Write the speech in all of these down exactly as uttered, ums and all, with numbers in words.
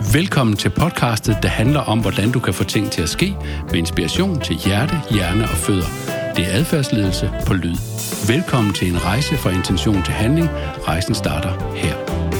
Velkommen til podcastet, der handler om, hvordan du kan få ting til at ske med inspiration til hjerte, hjerne og fødder. Det er adfærdsledelse på lyd. Velkommen til en rejse fra intention til handling. Rejsen starter her.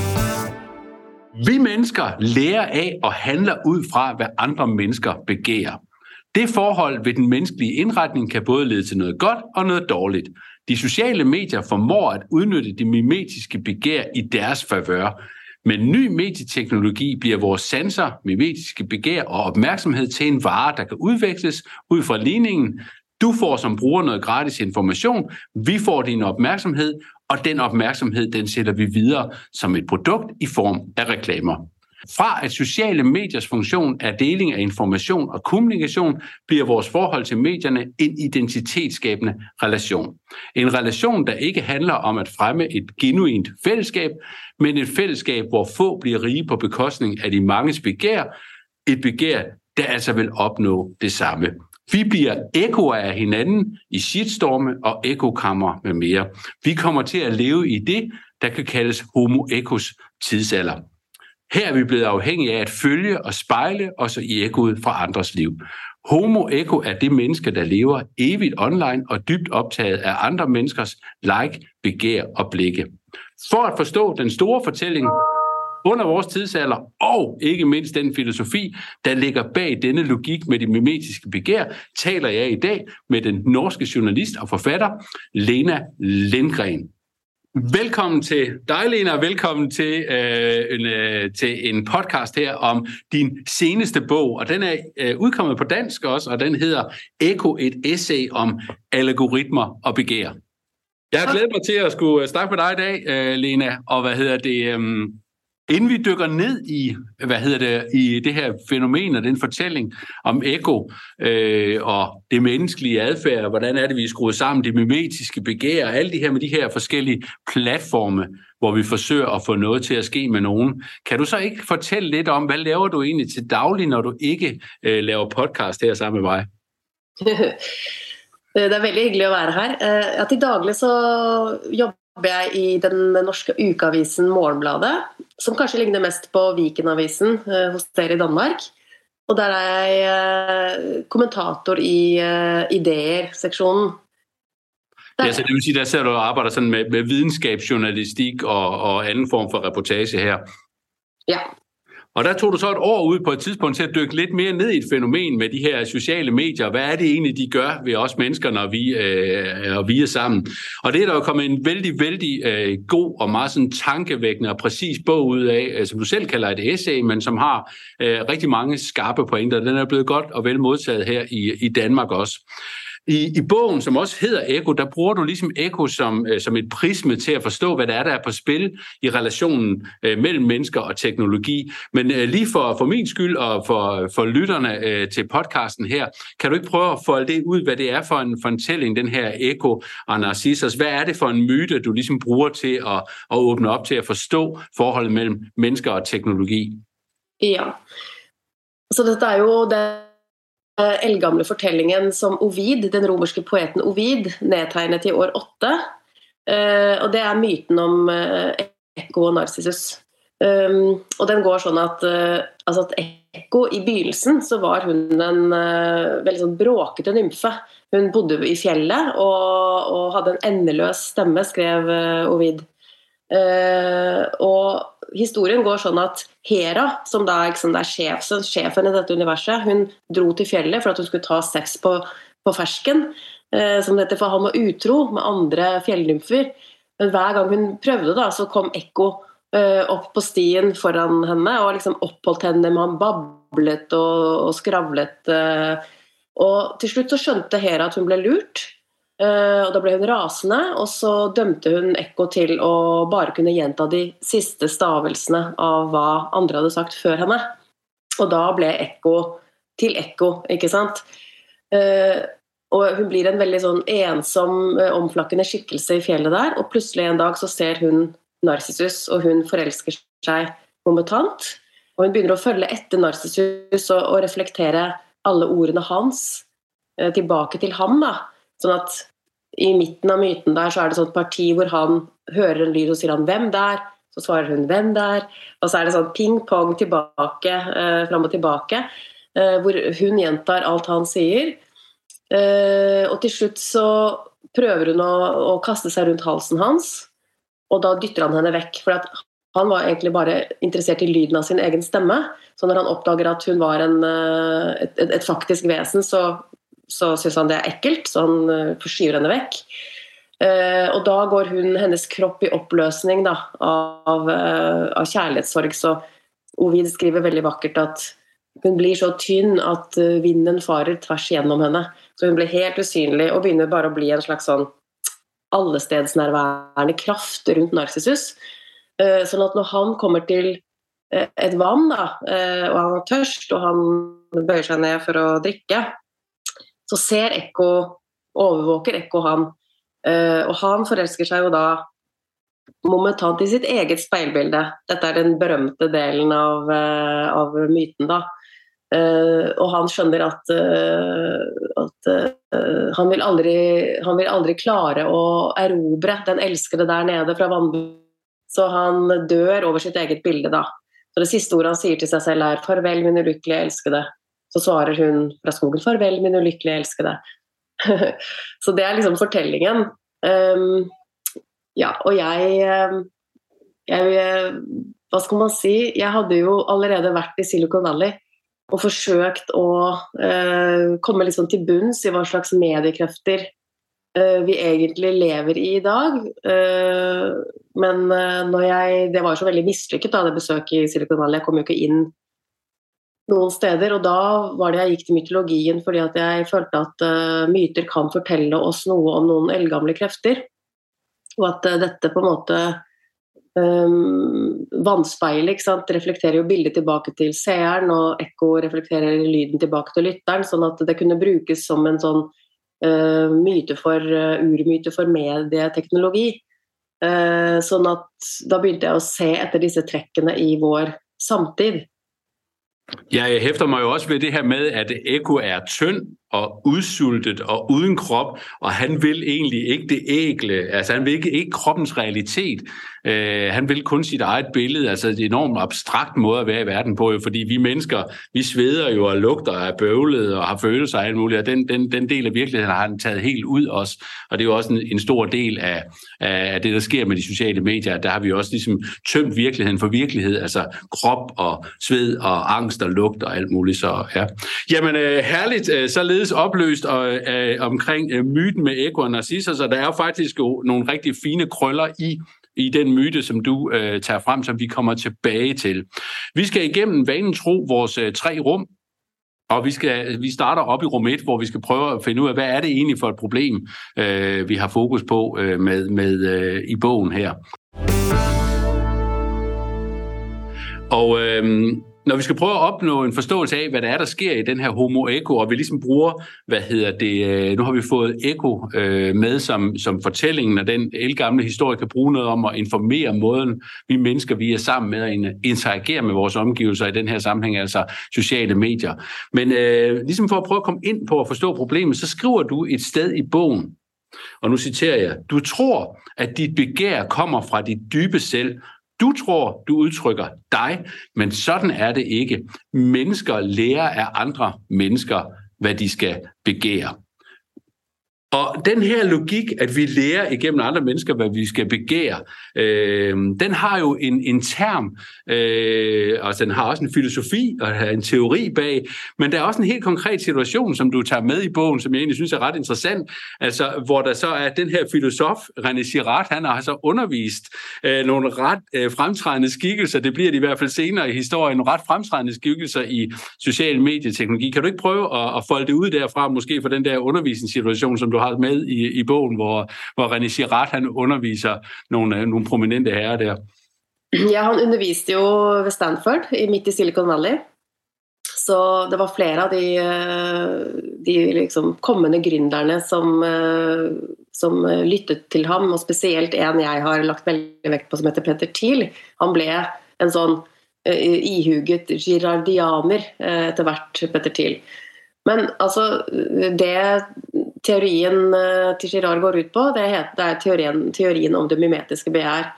Vi mennesker lærer af og handler ud fra, hvad andre mennesker begærer. Det forhold ved den menneskelige indretning kan både lede til noget godt og noget dårligt. De sociale medier formår at udnytte det mimetiske begær i deres favør. Med ny medieteknologi bliver vores sanser, mimetiske begær og opmærksomhed til en vare, der kan udveksles ud fra ligningen. Du får som bruger noget gratis information, vi får din opmærksomhed, og den opmærksomhed, den sætter vi videre som et produkt i form af reklamer. Fra at sociale mediers funktion er deling af information og kommunikation, bliver vores forhold til medierne en identitetsskabende relation. En relation, der ikke handler om at fremme et genuint fællesskab, men et fællesskab, hvor få bliver rige på bekostning af de manges begær. Et begær, der altså vil opnå det samme. Vi bliver ekoer af hinanden i shitstorme og ekokammer med mere. Vi kommer til at leve i det, der kan kaldes homo ecos tidsalder. Her er vi blevet afhængige af at følge og spejle os i ekoet fra andres liv. Homo eco er det menneske, der lever evigt online og dybt optaget af andre menneskers like, begær og blikke. For at forstå den store fortælling under vores tidsalder, og ikke mindst den filosofi, der ligger bag denne logik med det mimetiske begær, taler jeg i dag med den norske journalist og forfatter Lena Lindgren. Velkommen til dig, Lena, og velkommen til, øh, en, øh, til en podcast her om din seneste bog, og den er øh, udkommet på dansk også, og den hedder Eko, et essay om algoritmer og begær. Jeg har glædet mig til at skulle snakke med dig i dag, øh, Lena, og hvad hedder det... Øh, Inden vi dykker ned i, hvad hedder det, i det her fænomen og den fortælling om eko øh, og det menneskelige adfærd, hvordan er det, vi er skruet sammen, det mimetiske begær og alle de her med de her forskellige platforme, hvor vi forsøger at få noget til at ske med nogen. Kan du så ikke fortælle lidt om, hvad laver du egentlig til daglig, når du ikke øh, laver podcast her sammen med mig? Det er veldig hyggelig at være her. Ja, til daglig så jobber jeg i den norske ukeavisen Morgenbladet, som kanskje ligner mest på Vikenavisen eh, hos dere i Danmark. Og der er jeg eh, kommentator i eh, ideer-seksjonen. Ja, så det vil sige, der ser du og arbejder sådan med, med videnskabsjournalistik og, og anden form for reportage her. Ja. Og der tog du så et år ud på et tidspunkt til at dykke lidt mere ned i et fænomen med de her sociale medier. Hvad er det egentlig, de gør ved os mennesker, når vi, øh, og vi er sammen? Og det er der jo kommet en vældig, vældig øh, god og meget sådan tankevækkende og præcis bog ud af, øh, som du selv kalder et essay, men som har øh, rigtig mange skarpe pointer. Den er blevet godt og vel modtaget her i, i Danmark også. I, I bogen, som også hedder Eko, der bruger du ligesom Eko som, øh, som et prisme til at forstå, hvad der er, der er på spil i relationen øh, mellem mennesker og teknologi. Men øh, lige for, for min skyld og for, for lytterne øh, til podcasten her, kan du ikke prøve at folde det ud, hvad det er for en, for en tælling, den her Eko og Narcissus? Hvad er det for en myte, du ligesom bruger til at, at åbne op til at forstå forholdet mellem mennesker og teknologi? Ja, så dette er jo det eldgamle fortellingen som Ovid, den romerske poeten Ovid, nedtegnet i år åtte. Uh, og det er myten om uh, Eko og Narcissus. Um, og den går sånn at, uh, altså at Eko i begynnelsen så var hun en uh, veldig sånn bråkete nymfe. Hun bodde i fjellet og, og hadde en endeløs stemme, skrev uh, Ovid. Uh, og historien går sånn at Hera, som da liksom, er sjefen, sjefen i dette universet, hun dro til fjellet for at hun skulle ta sex på, på fersken, uh, som det heter, for han var utro med andre fjellnymfer. Men hver gang hun prøvde da, så kom Eko uh, opp på stien foran henne og liksom oppholdt henne med han bablet og, og skravlet. Uh, og til slutt så skjønte Hera at hun ble lurt. Uh, og da ble hun rasende, og så dømte hun Eko til å bare kunne gjenta de siste stavelsene av hva andre hadde sagt før henne. Og da ble Eko til Eko, ikke sant? Uh, og hun blir en veldig sånn ensom, uh, omflakkende skikkelse i fjellet der, og plutselig en dag så ser hun Narcissus, og hun forelsker seg momentant, og hun begynner å følge etter Narcissus og, og reflektere alle ordene hans uh, tilbake til ham da. Sånn at i midten av myten der så er det sånn et parti hvor han hører en lyd og sier han hvem der, Så svarer hun hvem der, og så er det sånn ping-pong tilbake, eh, frem og tilbake, eh, hvor hun gjentar alt han sier. Eh, og til slutt så prøver hun å, å kaste seg rundt halsen hans, og da dytter han henne vekk, for at han var egentlig bare interessert i lyden av sin egen stemme, så når han oppdager at hun var en, et, et, et faktisk vesen, så, så synes han det er ekkelt, så han forskyver henne vekk. Uh, og da går hun, hennes kropp i oppløsning da, av, uh, av kjærlighetssorg, så Ovid skriver veldig vakkert at hun blir så tynn at uh, vinden farer tvers gjennom henne, så hun blir helt usynlig og begynner bare å bli en slags sånn allestedsnærværende kraft rundt Narcissus, uh, sånn at når han kommer til uh, et vann da, uh, og han er tørst og han bøyer seg ned for å drikke, så ser Ekko, overvåker Ekko han. Uh, og han forelsker seg jo da momentant i sitt eget speilbilde. Dette er den berømte delen av, uh, av myten da. Uh, og han skjønner at, uh, at uh, han, vil aldri, han vil aldri klare å erobre den elskede der nede fra vannbunnen. Så han dør over sitt eget bilde da. Så det siste ordet han sier til seg selv er «Farvel, min ulykkelige elskede». Så svarer hun fra skogen «Farvel, min ulykkelige elskede». Så det er liksom fortellingen. Um, ja, og jeg, jeg hva skal man si, jeg hadde jo allerede vært i Silicon Valley og forsøkt å uh, komme liksom til bunns i hva slags mediekrefter uh, vi egentlig lever i i dag. Uh, men uh, når jeg, det var jo så veldig mislykket da, det besøket i Silicon Valley, jeg kom jo ikke inn noen steder, og da var det jeg gikk til mytologien fordi at jeg følte at uh, myter kan fortelle oss noe om noen eldgamle krefter, og at uh, dette på en måte um, vannspeilet, ikke sant, reflekterer jo bildet tilbake til seeren, og ekko reflekterer lyden tilbake til lytteren, sånn at det kunne brukes som en sånn uh, myte for, uh, urmyte for medieteknologi. Uh, sånn at da begynte jeg å se etter disse trekkene i vår samtid. Jeg hæfter mig jo også ved det her med, at Ekko er tynd og udsultet og uden krop, og han vil egentlig ikke det ægle, altså han vil ikke, ikke kroppens realitet. Uh, han vil kun sit eget billede, altså et enormt abstrakt måde at være i verden på, jo, fordi vi mennesker, vi sveder jo og lugter af bøvlet og har følelser og alt muligt, og den, den, den del af virkeligheden har han taget helt ud os, og det er jo også en, en stor del af, af det, der sker med de sociale medier. Der har vi også ligesom tømt virkeligheden for virkelighed, altså krop og sved og angst og lugt og alt muligt. Så ja. Jamen uh, herligt, uh, således opløst og, uh, omkring uh, myten med Ekko og Narcissus, så der er jo faktisk jo nogle rigtig fine krøller i i den myte, som du øh, tager frem, som vi kommer tilbage til. Vi skal igennem vanen tro vores øh, tre rum, og vi, skal, vi starter op i rum et, hvor vi skal prøve at finde ud af, hvad er det egentlig for et problem, øh, vi har fokus på øh, med, med øh, i bogen her. Og øh, når vi skal prøve at opnå en forståelse af, hvad der er, der sker i den her Homo Ekko, og vi ligesom bruger, hvad hedder det, nu har vi fået Ekko øh, med som, som fortællingen, og den ældgamle historie kan bruge noget om at informere måden, vi mennesker, vi er sammen med at interagere med vores omgivelser i den her sammenhæng, altså sociale medier. Men øh, ligesom for at prøve at komme ind på at forstå problemet, så skriver du et sted i bogen, og nu citerer jeg, du tror, at dit begær kommer fra dit dybe selv. Du tror, du udtrykker dig, men sådan er det ikke. Mennesker lærer af andre mennesker, hvad de skal begære. Og den her logik, at vi lærer igennem andre mennesker, hvad vi skal begære, øh, den har jo en, en term, øh, og den har også en filosofi og en teori bag, men der er også en helt konkret situation, som du tager med i bogen, som jeg egentlig synes er ret interessant, altså hvor der så er den her filosof, René Girard, han har så undervist øh, nogle ret øh, fremtrædende skikkelser, det bliver det i hvert fald senere i historien, nogle ret fremtrædende skikkelser i social medieteknologi. Kan du ikke prøve at, at folde det ud derfra, måske for den der undervisningssituation, som du har med i, i bogen, hvor, hvor René Girard han underviser nogle, nogle prominente herrer der? Ja, han underviste jo ved Stanford, midt i Silicon Valley. Så det var flere av de, de liksom kommende gründerne som, som lyttet til ham, og spesielt en jeg har lagt veldig vekt på som heter Peter Thiel. Han ble en sånn ihuget girardianer etter hvert, Peter Thiel. Men altså, det teorien til Girard går ut på, det, heter, det er teorien, teorien om det mimetiske begjær.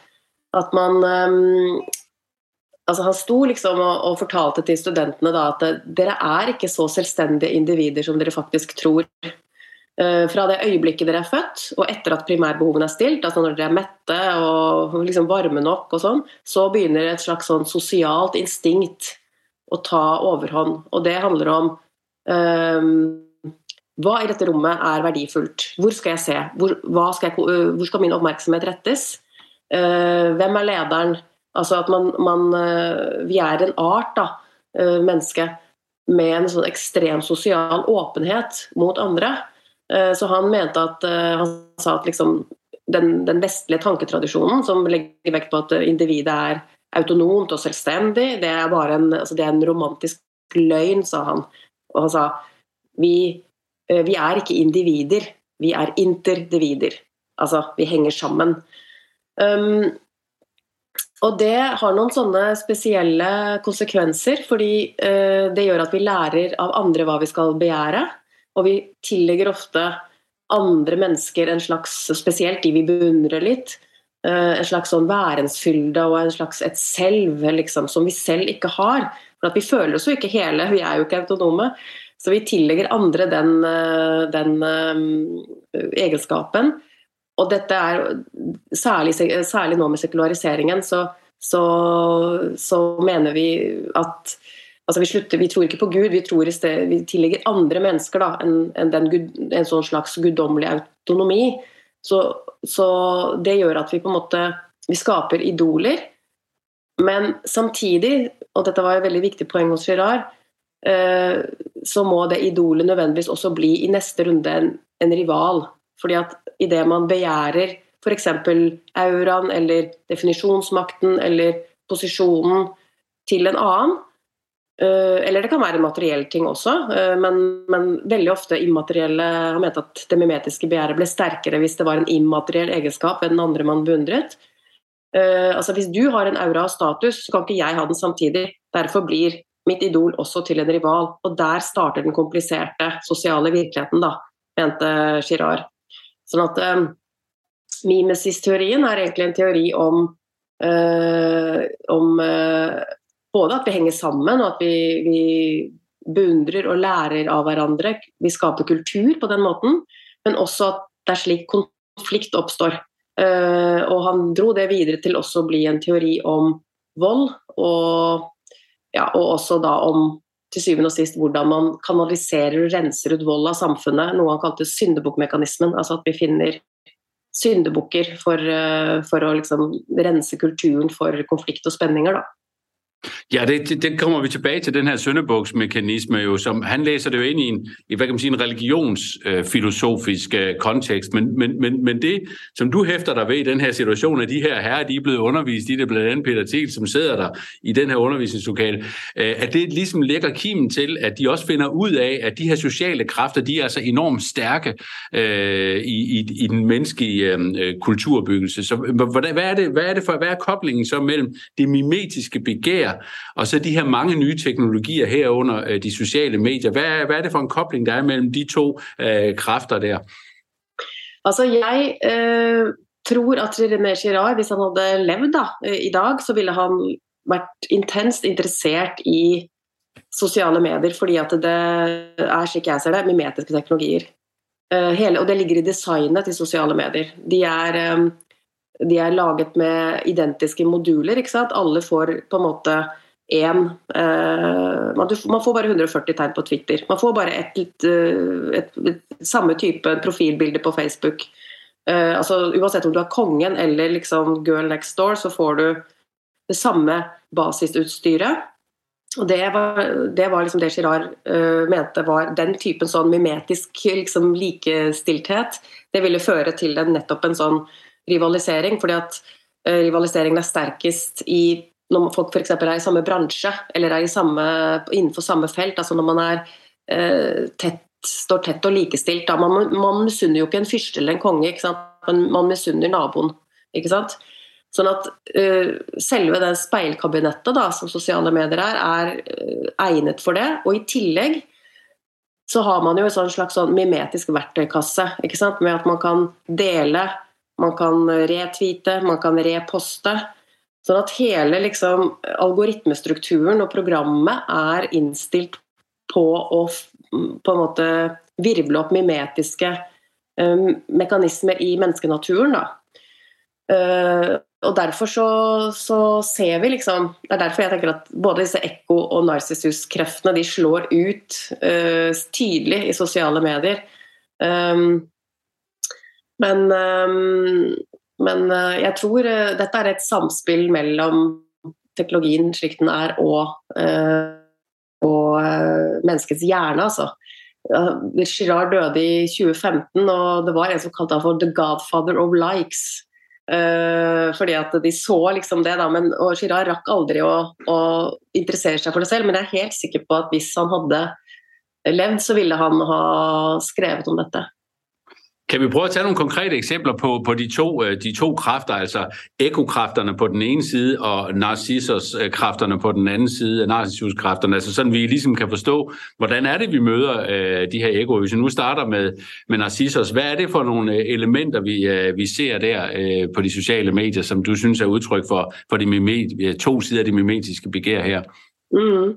at man um, altså han sto liksom og, og fortalte til studentene da at dere er ikke så selvstendige individer som dere faktisk tror. Uh, fra det øyeblikket dere er født, og etter at primærbehovene er stilt, altså når dere er mette og liksom varme nok og sånn, så begynner et slags sånn sosialt instinkt å ta overhånd. Og det handler om um, hva i dette rommet er verdifullt? Hvor skal jeg se? Hvor, hva skal, jeg, hvor skal min oppmerksomhet rettes? Uh, hvem er lederen? Altså at man, man uh, vi er en art da, uh, menneske, med en sånn ekstrem sosial åpenhet mot andre. Uh, så han mente at, uh, han sa at liksom, den, den vestlige tanketradisjonen, som legger vekt på at individet er autonomt og selvstendig, det er bare en, altså det er en romantisk løgn, sa han. Og han sa, vi Vi er ikke individer, vi er interdivider. Altså, vi henger sammen. Um, og det har noen sånne spesielle konsekvenser, fordi uh, det gjør at vi lærer av andre hva vi skal begjære, og vi tillegger ofte andre mennesker en slags, spesielt de vi beundrer litt, uh, en slags sånn værensfylde og en slags et selv, liksom, som vi selv ikke har. For at vi føler oss jo ikke hele, vi er jo ikke autonome. Så vi tillegger andre den, den um, egenskapen, og dette er særlig, særlig nå med sekulariseringen, så, så, så mener vi at altså vi, slutter, vi tror ikke på Gud, vi, tror i sted, vi tillegger andre mennesker da, en, en, den gud, en sånn slags guddommelig autonomi, så, så det gjør at vi på en måte vi skaper idoler, men samtidig, og dette var et veldig viktig poeng hos Girard, så må det idolet nødvendigvis også bli i neste runde en, en rival, fordi at i det man begjærer for eksempel auraen eller definisjonsmakten eller posisjonen til en annen, eller det kan være en materiell ting også, men, men veldig ofte immaterielle har ment at det mimetiske begjæret ble sterkere hvis det var en immateriell egenskap ved den andre man beundret. Altså hvis du har en aura av status, så kan ikke jeg ha den samtidig, derfor blir mitt idol også til en rival, og der starter den kompliserte sosiale virkeligheten da, mente Girard. Sånn at um, mimesis-teorien er egentlig en teori om, uh, om uh, både at vi henger sammen, og at vi, vi beundrer og lærer av hverandre, vi skaper kultur på den måten, men også at det er slik konflikt oppstår. Uh, og han dro det videre til også å bli en teori om vold, og Ja, og også da om til syvende og sist hvordan man kanaliserer og renser ut vold av samfunnet, noe han kalte syndebukkmekanismen, altså at vi finner syndebukker for, for å liksom rense kulturen for konflikt og spenninger da. Ja, det, det, det kommer vi tilbage til, den her syndebuksmekanisme, jo, som han læser det jo ind i en, i, hvad kan man sige, en religionsfilosofisk øh, kontekst, men, men, men, men det, som du hæfter dig ved i den her situation, at de her herrer, de er blevet undervist, de er blandt andet Peter Thiel, som sidder der i den her undervisningslokale, øh, at det ligesom lægger kimen til, at de også finder ud af, at de her sociale kræfter, de er altså enormt stærke øh, i, i, i den menneskelige øh, kulturbyggelse. Så hvad, hvad, er det, hvad er det for, hvad er koblingen så mellem det mimetiske begær og så de her mange nye teknologier herunder øh, de sociale medier? Hvad, hvad er det for en kobling, der er mellem de to øh, kræfter der? Altså, jeg øh, tror at René Girard, hvis han hadde levd da, øh, i dag, så ville han vært intenst interessert i sosiale medier, fordi at det er, slik jeg ser det, mimetiske teknologier. Uh, hele, og det ligger i designet til sosiale medier. De er... Um, De er laget med identiske moduler, ikke sant? Alle får på en måte en, eh, man, man får bare hundre og førti tegn på Twitter, man får bare et, et, et, et, et samme type profilbilde på Facebook. Eh, altså, uansett om du er kongen eller liksom girl next door, så får du det samme basisutstyret. Og det var, det var liksom det Girard uh, mente var den typen sånn mimetisk liksom, likestilthet. Det ville føre til en, nettopp en sånn rivalisering, fordi at uh, rivaliseringen er sterkest i når folk for eksempel er i samme bransje, eller er i samme, innenfor samme felt, altså når man er uh, tett, står tett og likestilt. Da. Man, man misunner jo ikke en fyrste eller en konge, ikke sant? Man, man misunner naboen, ikke sant? Sånn at uh, selve det speilkabinettet da, som sosiale medier er, er uh, egnet for det, og i tillegg så har man jo en sånn slags sånn mimetisk verktøykasse, ikke sant? Med at man kan dele, man kan retweete, man kan reposte, Sånn at hele liksom, algoritmestrukturen og programmet er innstilt på å på en måte virvle opp mimetiske um, mekanismer i menneskenaturen. Da. Uh, og derfor så, så ser vi liksom, det er derfor jeg tenker at både disse ekko- og narcissus-kreftene de slår ut uh, tydelig i sosiale medier. Um, men um, Men jeg tror dette er et samspill mellom teknologien slik den er og, og menneskets hjerne. Altså. Girard døde i tjue femten, og det var en som kalte han for The Godfather of Likes. Fordi at de så liksom det, da, men, og Girard rakk aldri å, å interessere seg for det selv, men jeg er helt sikker på at hvis han hadde levd, så ville han ha skrevet om dette. Kan vi prøve at tage nogle konkrete eksempler på, på de, to, de to kræfter, altså ekokræfterne på den ene side og narcissus-kræfterne på den anden side, narcissus-kræfterne, altså sådan vi ligesom kan forstå, hvordan er det, vi møder øh, de her ekko. Hvis vi nu starter med, med narcissus, hvad er det for nogle elementer, vi, øh, vi ser der øh, på de sociale medier, som du synes er udtryk for, for de mimet, to sider af de mimetiske begær her? Mm.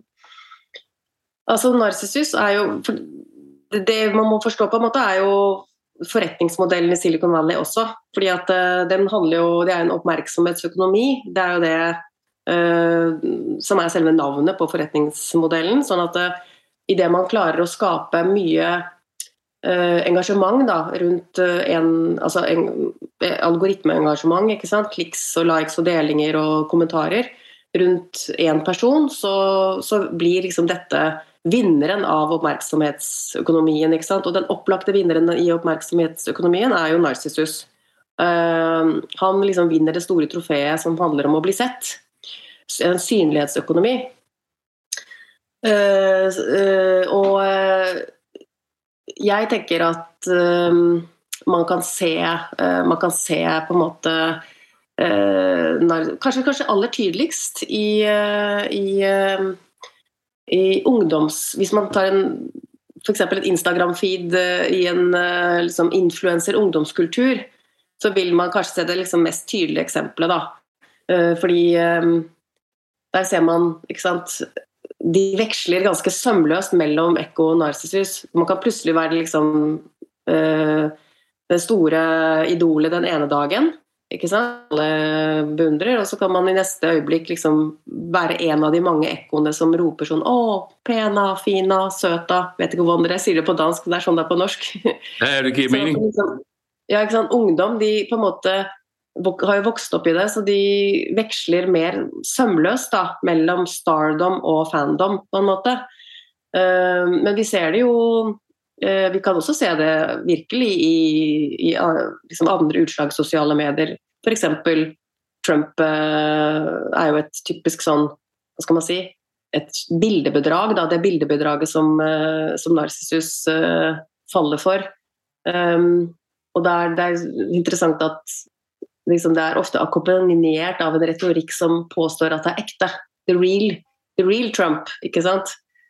Altså narcissus er jo, det man må forstå på en måte er jo forretningsmodellen i Silicon Valley også, fordi at uh, den handler jo, det er en oppmerksomhetsøkonomi, det er jo det uh, som er selve navnet på forretningsmodellen, sånn at uh, i det man klarer å skape mye uh, engasjement da, rundt uh, en, altså en algoritmeengasjement, ikke sant, kliks og likes og delinger og kommentarer rundt en person, så, så blir liksom dette vinneren av oppmerksomhetsøkonomien, ikke sant? Og den opplagte vinneren i oppmerksomhetsøkonomien er jo Narcissus. Uh, han liksom vinner det store trofeet som handler om å bli sett. En synlighetsøkonomi. Uh, uh, og uh, jeg tenker at uh, man kan se, uh, man kan se på en måte uh, nar- kanskje, kanskje aller tydeligst i, uh, i uh, i ungdoms, hvis man tar en, for eksempel et Instagram-feed i en liksom, influencer-ungdomskultur, så vil man kanskje se det liksom, mest tydelige eksempelet da. Fordi der ser man, ikke sant, de veksler ganske sømløst mellom ekko og narcissus. Man kan plutselig være liksom, det store idolet den ene dagen, ikke sant? Alle beundrer, og så kan man i neste øyeblikk liksom være en av de mange ekkoene som roper sånn, åh, pena, fina, søta, vet ikke hvordan dere sier det på dansk, det er sånn det er på norsk. Ja, det gir mening. Så, liksom, ja, ikke sant? Ungdom, de på en måte har jo vokst opp i det, så de veksler mer sømløst da, mellom stardom og fandom, på en måte. Uh, men vi ser det jo, uh, vi kan også se det virkelig i, i liksom andre utslag sosiale medier. For eksempel Trump uh, er jo et typisk sånn, hva skal man si, et bildebedrag, da, det bildebedraget som, uh, som Narcissus uh, faller for. Um, og det er, det er interessant at liksom, det er ofte akkompagnert av en retorikk som påstår at det er ekte. The real, the real Trump, ikke sant?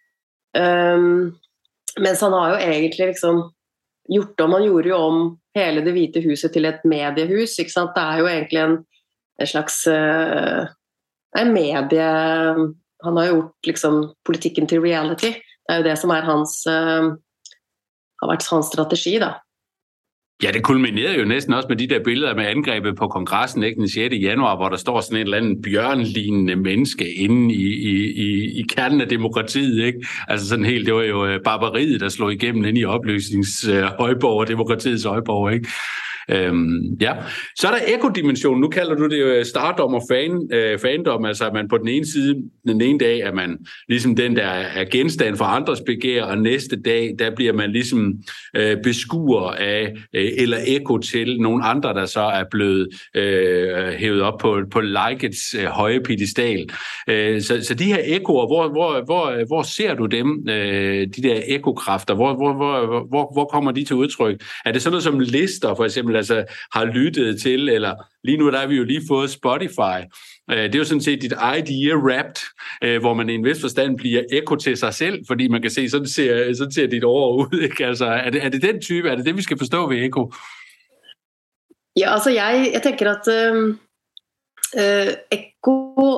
Um, mens han har jo egentlig liksom gjort om, han gjorde jo om hele det hvite huset til et mediehus, ikke sant? Det er jo egentlig en, en slags uh, en medie, han har gjort liksom politikken til reality, det er jo det som er hans uh, har vært hans strategi da. Ja, det kulminerede jo næsten også med de der billeder med angrebet på kongressen, ikke, den sjette januar, hvor der står sådan et eller andet bjørnlignende menneske inde i, i, i, i kernen af demokratiet, ikke? Altså sådan helt, det var jo barbariet, der slog igennem inde i opløsningshøjborg og demokratiets højborg, ikke? Øhm, ja. Så er der ekodimensionen. Nu kalder du det jo stardom og fan, øh, fandom, altså at man på den ene side, den ene dag er man ligesom den, der er genstand for andres begær, og næste dag, der bliver man ligesom øh, beskuer af, øh, eller ekko til nogle andre, der så er blevet øh, hævet op på, på likets øh, høje pedestal. Øh, så, så de her ekkoer, hvor, hvor, hvor, hvor ser du dem, øh, de der ekokræfter, hvor, hvor, hvor, hvor, hvor kommer de til udtryk? Er det sådan noget som lister, for eksempel, altså har lyttet til, eller lige nu der har vi jo lige fået Spotify. Det er jo sådan set dit idea wrapped, hvor man i en vis forstand bliver ekko til sig selv, fordi man kan se, sådan ser, sådan ser dit år ud. Ikke? Altså, er, det, er det den type? Er det det, vi skal forstå ved ekko? Ja, altså jeg, jeg tenker at uh, uh, ekko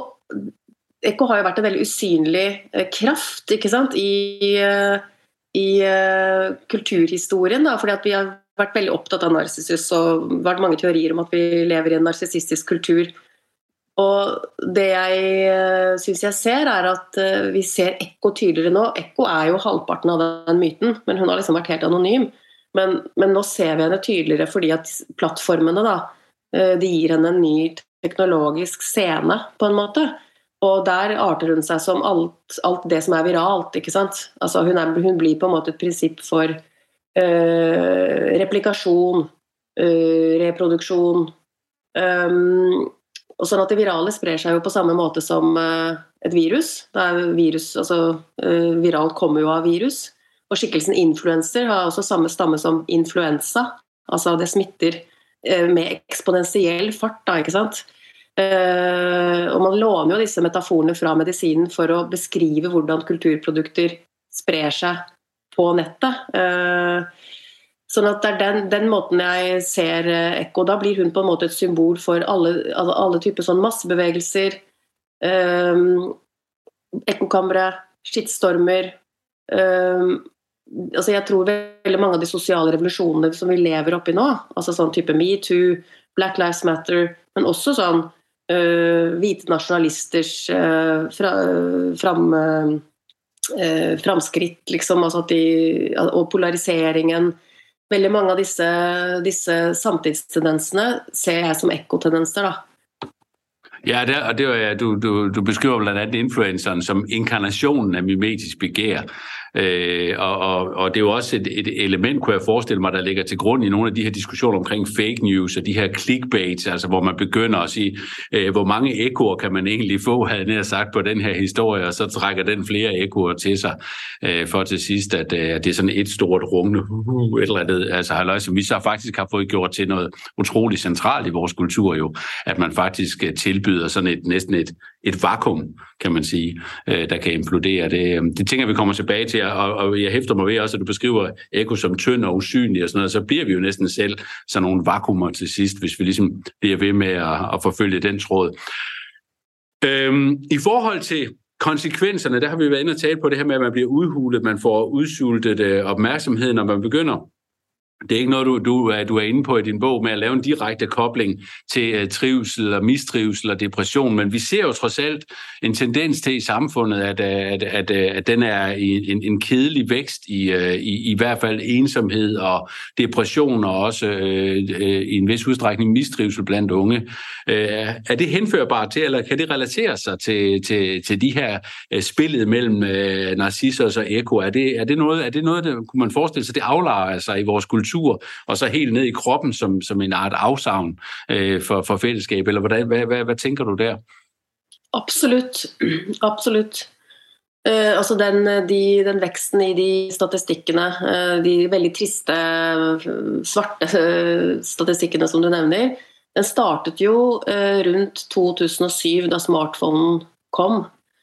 ekko har jo vært en veldig usynlig uh, kraft, ikke sant, i, uh, i uh, kulturhistorien, da, fordi at vi har vært veldig opptatt av Narcissus, og vært mange teorier om at vi lever i en narsissistisk kultur. Og det jeg synes jeg ser er at vi ser Ekko tydeligere nå. Ekko er jo halvparten av den myten, men hun har liksom vært helt anonym. Men, men nå ser vi henne tydeligere fordi at plattformene da, de gir henne en ny teknologisk scene på en måte. Og der arter hun seg som alt, alt det som er viralt, ikke sant? Altså hun, er, hun blir på en måte et prinsipp for øh, replikasjon, øh, reproduksjon, um, og sånn at det virale sprer seg jo på samme måte som uh, et virus. Det er virus, altså uh, viralt kommer jo av virus. Og skikkelsen influencer har også samme stamme som influensa. Altså det smitter uh, med eksponentiell fart, da, ikke sant? Uh, og man låner jo disse metaforene fra medisinen for å beskrive hvordan kulturprodukter sprer seg på nettet. Uh, Sånn at det er den, den måten jeg ser Ekko, da blir hun på en måte et symbol for alle, alle, alle typer sånn massebevegelser, um, ekkokamre, skittstormer. Um, altså jeg tror veldig mange av de sosiale revolusjonene som vi lever oppi nå, altså sånn type MeToo, Black Lives Matter, men også sånn uh, hvite nasjonalisters uh, fra, fram, uh, framskritt, liksom, altså at de, og polariseringen. Veldig mange av disse, disse samtidstendensene ser jeg som ekkotendenser, da. Ja, det, og det er, du, du, du beskriver blandt andet influenceren som inkarnationen af mimetisk begær. Øh, og, og, og det er jo også et, et element, kunne jeg forestille mig, der ligger til grund i nogle af de her diskussioner omkring fake news og de her clickbaits, altså hvor man begynder at sige, øh, hvor mange ekkoer kan man egentlig få, havde jeg sagt, på den her historie, og så trækker den flere ekkoer til sig, øh, for til sidst, at øh, det er sådan et stort rungende, uh, et eller andet, altså halløj, som vi så faktisk har fået gjort til noget utroligt centralt i vores kultur jo, at man faktisk tilbyder sådan et, næsten et, et vakuum, kan man sige, øh, der kan implodere. Det, det tænker vi kommer tilbage til, og, og jeg hæfter mig ved også, at du beskriver Ekko som tynd og usynlig og sådan noget, så bliver vi jo næsten selv sådan nogle vakuumer til sidst, hvis vi ligesom bliver ved med at, at forfølge den tråd. Øhm, I forhold til konsekvenserne, der har vi været inde og tale på det her med, at man bliver udhulet, man får udsultet øh, opmærksomhed, når man begynder. Det er ikke noget, du, du, du er inde på i din bog med at lave en direkte kobling til uh, trivsel og mistrivsel og depression, men vi ser jo trods alt en tendens til i samfundet, at, at, at, at den er en, en kedelig vækst i, i, i hvert fald ensomhed og depression og også uh, i en vis udstrækning mistrivsel blandt unge. Uh, er det henførbart til, eller kan det relatere sig til, til, til de her uh, spillet mellem uh, Narcissus og Ekko? Er det, er det noget, er det noget, der kunne man forestille sig, det aflager sig i vores kultur, og så helt ned i kroppen som, som en art afsavn øh, for, for fællesskab, eller hvordan, hvad, hvad, hvad tænker du der? Absolutt, absolutt. Uh, altså den, de, den veksten i de statistikkene, uh, de veldig triste, svarte uh, statistikkene som du nevner, den startet jo uh, rundt to tusen og syv da smartphonen kom.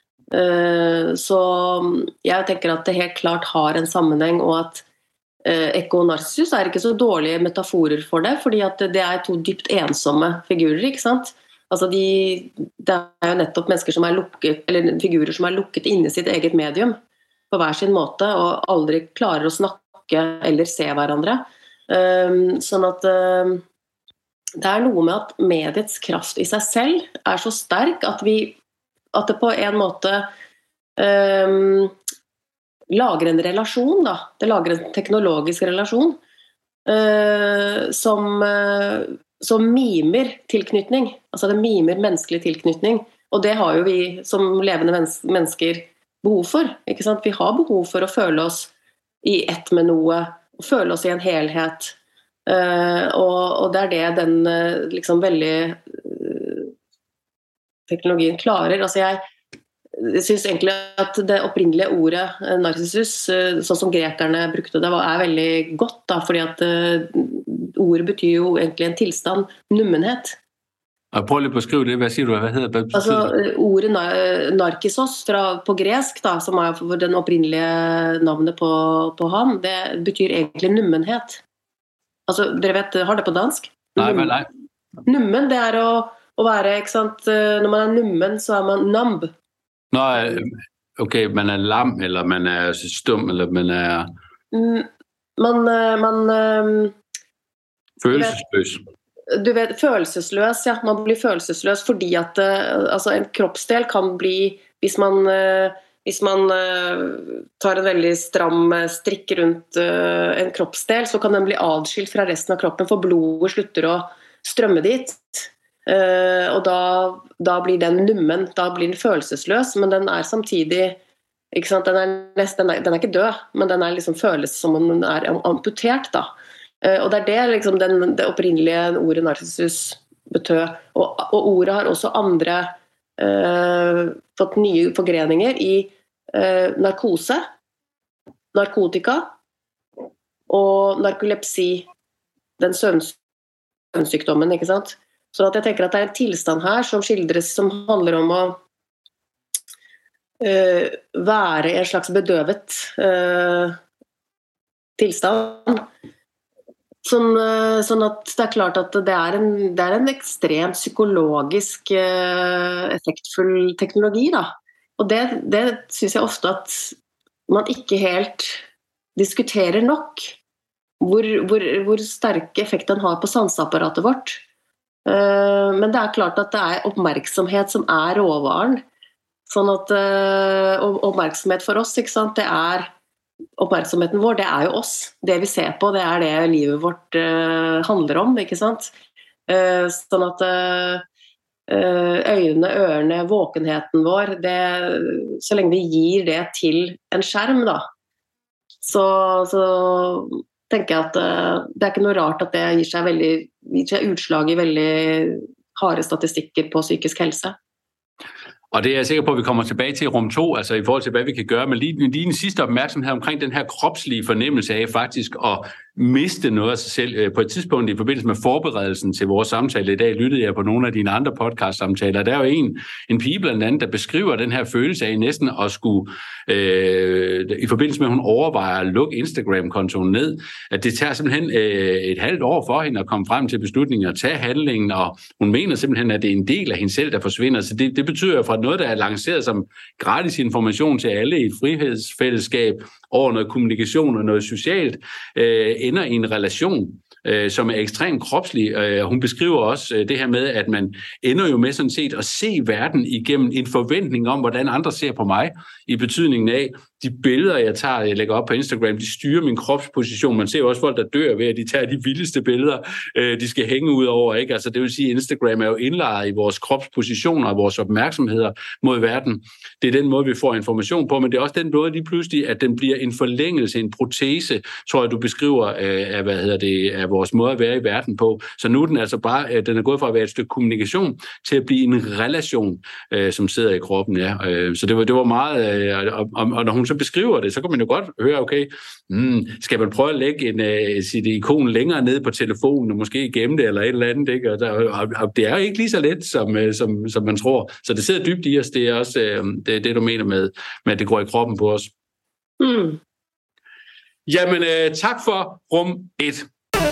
Uh, så jeg tenker at det helt klart har en sammenheng, og at Ekko og Narcissus er ikke så dårlige metaforer for det, fordi at det er to dypt ensomme figurer, ikke sant? Altså de, det er jo nettopp mennesker som er lukket, eller figurer som er lukket inne i sitt eget medium på hver sin måte, og aldri klarer å snakke eller se hverandre. Um, sånn at um, det er noe med at mediets kraft i seg selv er så sterk at vi, at det på en måte um, lager en relasjon, da. Det lager en teknologisk relasjon uh, som, uh, som mimer tilknytning. Altså det mimer menneskelig tilknytning. Og det har jo vi som levende mens- mennesker behov for. Ikke sant? Vi har behov for å føle oss i ett med noe, og føle oss i en helhet. Uh, og, og det er det den uh, liksom veldig uh, teknologien klarer. Altså jeg Jeg synes egentlig at det opprinnelige ordet Narcissus, sånn som grekerne brukte det, er veldig godt, da, fordi at ordet betyr jo egentlig en tilstand, nummenhet. Og prøv lige på at skrive det, hvad siger du, hvad hedder det? Altså ordet narkissos fra, på gresk, da, som er den opprinnelige navnet på, på han, det betyr egentlig nummenhet. Altså, dere vet, har det på dansk? Nei, men nei. Nummen, det er å At være, ikke sant? Når man er nummen, så er man numb. Nå, okay, man er lam, eller man er stum, eller man er... Mm, man... man følelsesløs. Du vet, følelsesløs, ja. Man blir følelsesløs fordi at altså, en kroppsdel kan bli, hvis man, hvis man tar en veldig stram strikk rundt en kroppsdel, så kan den bli adskilt fra resten av kroppen, for blodet slutter å strømme dit. Og da, da blir den nummen, da blir den følelsesløs, men den er samtidig, ikke sant? Den er, nest, den er, den er ikke død, men den er liksom, føles som om den er amputert da. Og det er det, liksom, den, det opprinnelige ordet narcissus betød. Og, og ordet har også andre eh, fått nye forgreninger i eh, narkose, narkotika og narkolepsi, den søvnsykdommen, ikke sant? Så at jeg tenker at det er en tilstand her som skildres, som handler om å eh, være en slags bedøvet eh, tilstand. Sånn, sånn at det er klart at det er en, det er en ekstremt psykologisk eh, effektfull teknologi da. Og det, det synes jeg ofte at man ikke helt diskuterer nok hvor, hvor, hvor sterk effekt den har på sanseapparatet vårt. Eh, men det er klart at det er oppmerksomhet som er råvaren. Sånn at eh, oppmerksomhet for oss, ikke sant, det er oppmerksomheten vår, det er jo oss. Det vi ser på, det er det livet vårt uh, handler om, ikke sant? Uh, sånn at uh, øynene, ørene, våkenheten vår, det, så lenge vi gir det til en skjerm, da, så, så tenker jeg at uh, det er ikke noe rart at det gir seg, veldig, gir seg utslag i veldig harde statistikker på psykisk helse. Og det er jeg sikker på, at vi kommer tilbage til i rum to, altså i forhold til, hvad vi kan gøre, men lige, lige en sidste opmærksomhed omkring den her kropslige fornemmelse af faktisk at miste noget af sig selv. På et tidspunkt i forbindelse med forberedelsen til vores samtale i dag, lyttede jeg på nogle af dine andre podcast-samtaler. Der er jo en, en pige blandt andet, der beskriver den her følelse af næsten at skulle, øh, i forbindelse med, at hun overvejer at lukke Instagram-kontoen ned, at det tager simpelthen øh, et halvt år for hende at komme frem til beslutningen og tage handlingen, og hun mener simpelthen, at det er en del af hende selv, der forsvinder. Så det, det betyder jo fra noget, der er lanceret som gratis information til alle i et frihedsfællesskab over noget kommunikation og noget socialt, øh, ender i en relation, øh, som er ekstremt kropslig. Øh, hun beskriver også øh, det her med, at man ender jo med sådan set at se verden igennem en forventning om, hvordan andre ser på mig, i betydningen af, de billeder, jeg tager, jeg lægger op på Instagram, de styrer min kropsposition. Man ser jo også folk, der dør ved, at de tager de vildeste billeder, øh, de skal hænge ud over, ikke? Altså, det vil sige, at Instagram er jo indlejret i vores kropspositioner og vores opmærksomheder mod verden. Det er den måde, vi får information på, men det er også den måde lige pludselig, at den bliver en forlængelse, en protese, tror jeg, du beskriver øh, af, hvad hedder det, af vores måde at være i verden på. Så nu er den altså bare, øh, den er gået fra at være et stykke kommunikation til at blive en relation, øh, som sidder i kroppen, ja. Øh, så det var, det var meget, øh, og, og, og når hun så beskriver det, så kan man jo godt høre, okay, hmm, skal man prøve at lægge en, uh, sit ikon længere ned på telefonen, og måske gemme det, eller et eller andet, ikke? Og, der, og, og det er jo ikke lige så let, som, uh, som, som man tror. Så det sidder dybt i os, det er også uh, det, det, du mener med, med, at det går i kroppen på os. Mm. Jamen, uh, tak for rum et.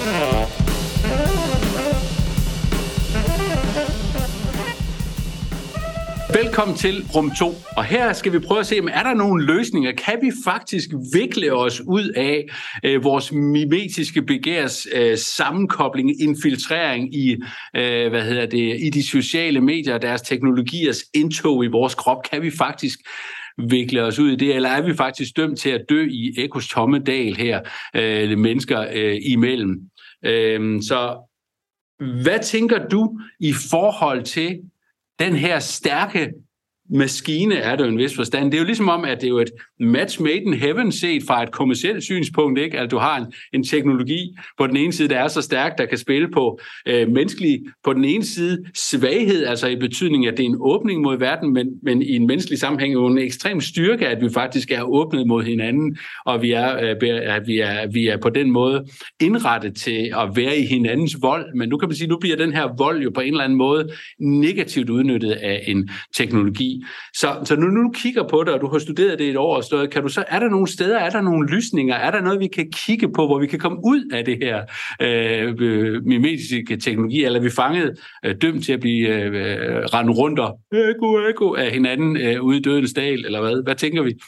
Velkommen til rum to, og her skal vi prøve at se, om er der nogle løsninger? Kan vi faktisk vikle os ud af øh, vores mimetiske begærs øh, sammenkobling, infiltrering i, øh, hvad hedder det, i de sociale medier og deres teknologiers indtog i vores krop? Kan vi faktisk vikle os ud i det, eller er vi faktisk dømt til at dø i Ekos tomme dal her, øh, mennesker øh, imellem? Øh, så hvad tænker du i forhold til den her stærke maskine, er det jo en vis forstand. Det er jo ligesom om, at det er jo et match made in heaven set fra et kommercielt synspunkt, ikke? At du har en, en teknologi på den ene side, der er så stærk, der kan spille på øh, menneskelig, på den ene side svaghed, altså i betydning, at det er en åbning mod verden, men, men i en menneskelig sammenhæng er jo en ekstrem styrke, at vi faktisk er åbnet mod hinanden, og vi er, øh, at vi er, vi er på den måde indrettet til at være i hinandens vold. Men nu kan man sige, nu bliver den her vold jo på en eller anden måde negativt udnyttet af en teknologi. teknologi. Så, så nu, nu du kigger på det, og du har studeret det et år og stået, kan du så, er der nogle steder, er der nogle lysninger, er der noget, vi kan kigge på, hvor vi kan komme ud af det her øh, mimetiske teknologi, eller er vi fanget øh, dømt til at blive øh, rendt rundt og eko, eko af hinanden øh, ude i dødens dal, eller hvad? Hvad tænker vi?